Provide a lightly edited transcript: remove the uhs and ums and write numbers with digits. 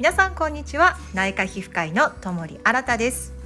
皆さんこんにちは。内科皮膚科医の友利新です。